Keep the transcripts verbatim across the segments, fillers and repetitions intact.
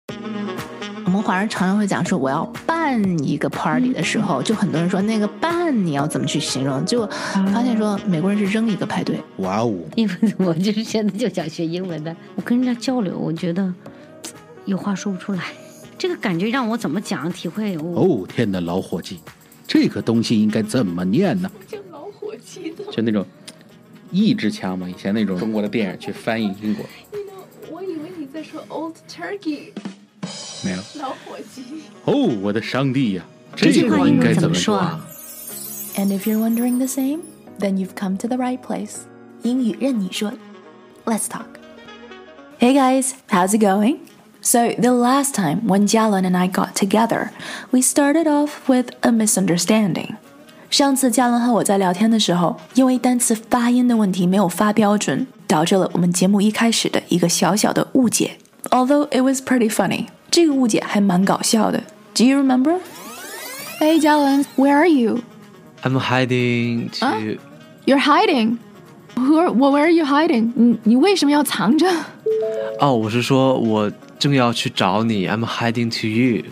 我们华人常常会讲说我要办一个 party 的时候，就很多人说那个办你要怎么去形容，结果发现说美国人是扔一个派对。 哇哦！ 因为我就是现在就想学英文的，我跟人家交流，我觉得有话说不出来，这个感觉让我怎么讲体会。 哦天哪，老伙计，这个东西应该怎么念呢？ 叫老伙计的， 就那种意志腔嘛，以前那种中国的电影去翻译英国。 You know, 我以为你在说 Old Turkey。 没有。 老伙计。 哦，我的上帝呀， 这句话应该怎么说啊 And if you're wondering the same, then you've come to the right place. 英语任你说 Let's talk. Hey guys, how's it going? So the last time when Jialun and I got together, we started off with a misunderstanding. 上次嘉伦和我在聊天的时候，因为单词发音的问题没有发标准，导致了我们节目一开始的一个小小的误解。Although it was pretty funny. 这个误解还蛮搞笑的。Do you remember? Hey Jialun, where are you? I'm hiding to... Huh? You're hiding? Who are, well, where are you hiding? 你, 你为什么要藏着？ 哦，我是说我正要去找你。I'm heading to you.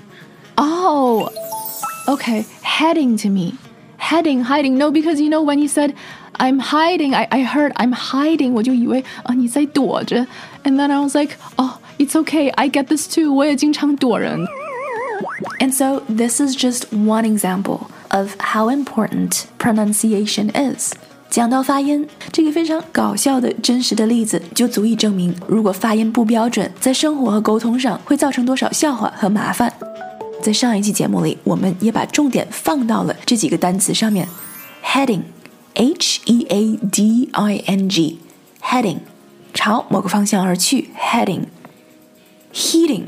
Oh, okay. Heading to me. Heading, hiding. No, because you know when you said I'm hiding, I, I heard I'm hiding. 我就以为啊你在躲着。And then I was like, oh, it's okay. I get this too. 我也经常躲人。And so this is just one example of how important pronunciation is. 讲到发音，这个非常搞笑的真实的例子就足以证明，如果发音不标准，在生活和沟通上会造成多少笑话和麻烦。在上一期节目里，我们也把重点放到了这几个单词上面。Heading, H E A D I N G, heading, 朝某个方向而去 heading. Heating,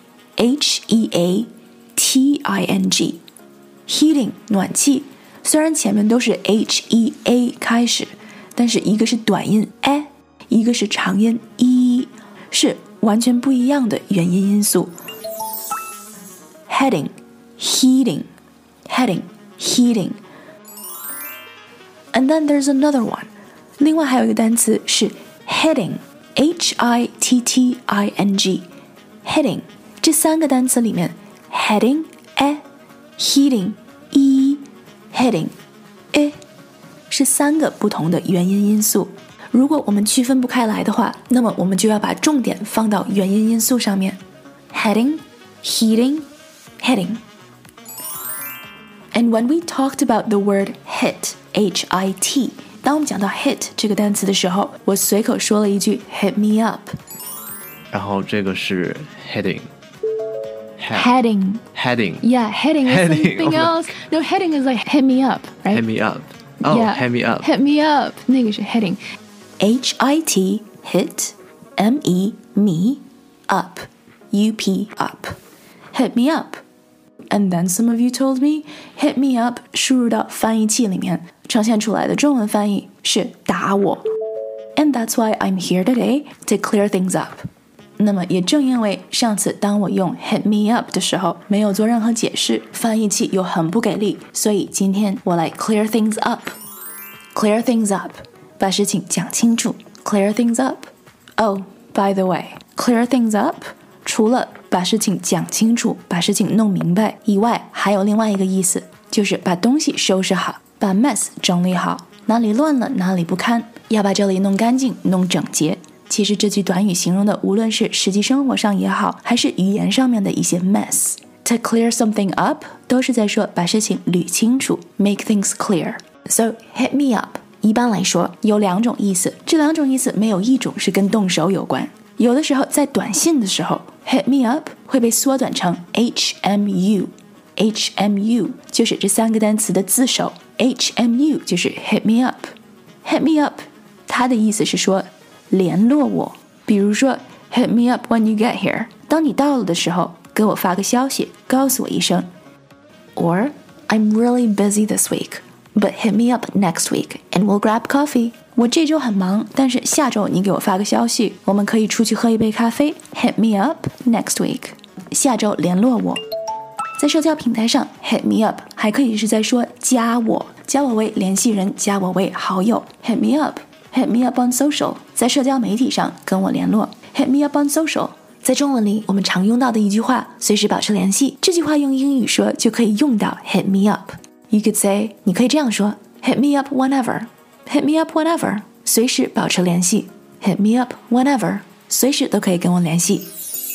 H E A T I N G, heating, 暖气。虽然前面都是 H E A 开始，但是一个是短音 a， 一个是长音 e， 是完全不一样的元音因素。Heading, heating, heading, heating. And then there's another one. 另外还有一个单词是 hitting, H I T T I N G, hitting. 这三个单词里面 heading, a, heating, e, heading, e 是三个不同的元音因素。如果我们区分不开来的话，那么我们就要把重点放到元音因素上面。Heading, heating, heading. And when we talked about the word hit, H I T, 当我们讲到 hit 这个单词的时候，我随口说了一句 hit me up. 然后这个是 heading. Heading. Heading. Yeah, heading is Heading, something oh else. No, heading is like hit me up, right? Hit me up. Oh, yeah, hit me up. Hit me up. 那个是 heading. H I T, hit, M E, me, up, U P, up. Hit me up. And then some of you told me, hit me up 输入到翻译器里面，呈现出来的中文翻译是打我。And that's why I'm here today to clear things up. 那么也正因为上次当我用 hit me up 的时候没有做任何解释，翻译器又很不给力，所以今天我来 clear things up. Clear things up. 把事情讲清楚。Clear things up. Oh, by the way, clear things up除了把事情讲清楚，把事情弄明白以外，还有另外一个意思，就是把东西收拾好，把 mess 整理好，哪里乱了哪里不堪，要把这里弄干净弄整洁。其实这句短语形容的无论是实际生活上也好，还是语言上面的一些 mess. To clear something up 都是在说把事情捋清楚， make things clear. So hit me up 一般来说有两种意思，这两种意思没有一种是跟动手有关。有的时候在短信的时候 hit me up 会被缩短成 H M U. H M U 就是这三个单词的字首， H M U 就是 hit me up. Hit me up 它的意思是说联络我，比如说 hit me up when you get here. 当你到了的时候给我发个消息，告诉我一声。 Or I'm really busy this week, but hit me up next week and we'll grab coffee. 我这周很忙，但是下周你给我发个消息，我们可以出去喝一杯咖啡。 Hit me up next week. 下周联络我。在社交平台上 hit me up 还可以是在说加我，加我为联系人，加我为好友。 Hit me up, hit me up on social. 在社交媒体上跟我联络。 Hit me up on social. 在中文里我们常用到的一句话，随时保持联系，这句话用英语说就可以用到 hit me up。 You could say， 你可以这样说， hit me up whenever， hit me up whenever， 随时保持联系， hit me up whenever， 随时都可以跟我联系。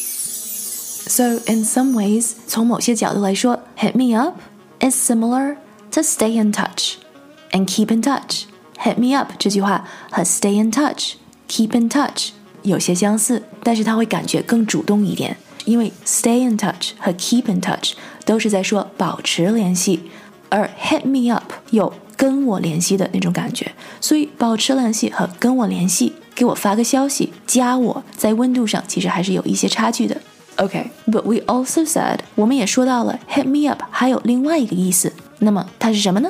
So in some ways， 从某些角度来说， hit me up is similar to stay in touch and keep in touch。 hit me up 这句话和 stay in touch keep in touch 有些相似，但是它会感觉更主动一点，因为 stay in touch 和 keep in touch 都是在说保持联系，而 hit me up 有跟我联系的那种感觉，所以保持联系和跟我联系，给我发个消息，加我，在温度上其实还是有一些差距的。 Okay, but we also said， 我们也说到了 hit me up 还有另外一个意思，那么它是什么呢？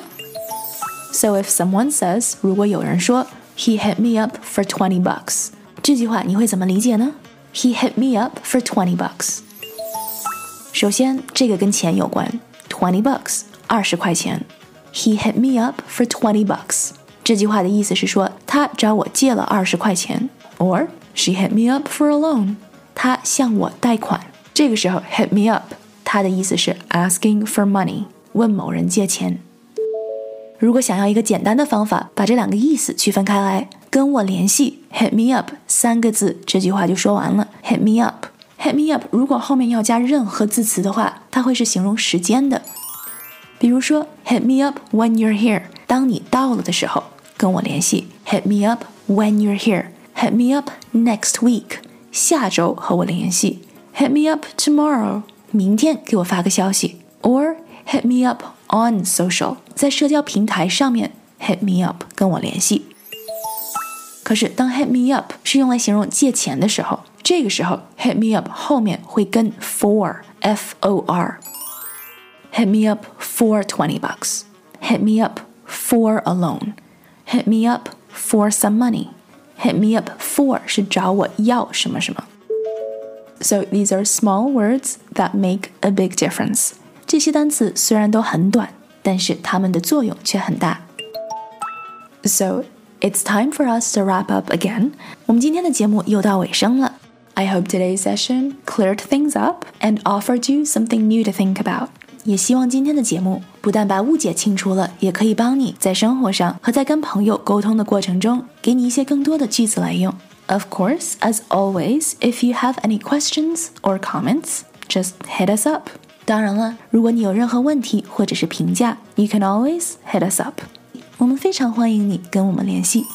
So if someone says， 如果有人说 he hit me up for twenty bucks， 这句话你会怎么理解呢？ He hit me up for twenty bucks。 首先这个跟钱有关， twenty bucks 二十块钱， He hit me up for twenty bucks， 这句话的意思是说他找我借了二十块钱， or she hit me up for a loan， 他向我贷款。这个时候 hit me up 它的意思是 asking for money， 问某人借钱。如果想要一个简单的方法把这两个意思区分开来，跟我联系 hit me up 三个字，这句话就说完了。 hit me up hit me up 如果后面要加任何字词的话，它会是形容时间的。比如说 hit me up when you're here， 当你到了的时候跟我联系。 hit me up when you're here， hit me up next week， 下周和我联系。 hit me up tomorrow， 明天给我发个消息。 or hit me up on social， 在社交平台上面 hit me up 跟我联系。可是当 hit me up 是用来形容借钱的时候，这个时候 hit me up 后面会跟 for F O R， hit me up for twenty bucks， hit me up for a loan， hit me up for some money， hit me up for 是找我要什么什么。 So these are small words that make a big difference。这些单词虽然都很短，但是它们的作用却很大。 So it's time for us to wrap up again。 我们今天的节目又到尾声了。 I hope today's session cleared things up and offered you something new to think about。 也希望今天的节目不但把误解清除了，也可以帮你在生活上和在跟朋友沟通的过程中，给你一些更多的句子来用。 Of course, as always, if you have any questions or comments, just hit us up。当然了，如果你有任何问题或者是评价 You can always hit us up。 我们非常欢迎你跟我们联系。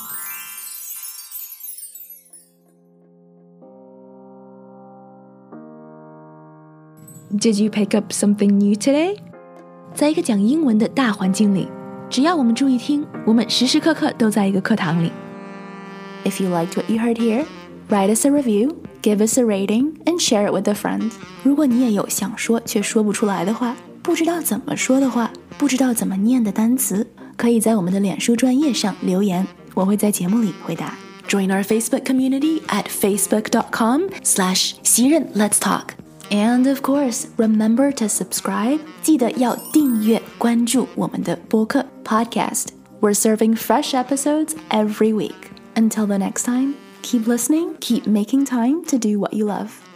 Did you pick up something new today？ 在一个讲英文的大环境里，只要我们注意听，我们时时刻刻都在一个课堂里。 If you liked what you heard here, write us a review，Give us a rating and share it with a friend。 如果你也有想说却说不出来的话，不知道怎么说的话，不知道怎么念的单词，可以在我们的脸书专页上留言，我会在节目里回答。 Join our Facebook community at facebook.com slash 袭人 Let's Talk。 And of course, remember to subscribe， 记得要订阅关注我们的播客 podcast。 We're serving fresh episodes every week. Until the next time, keep listening, keep making time to do what you love.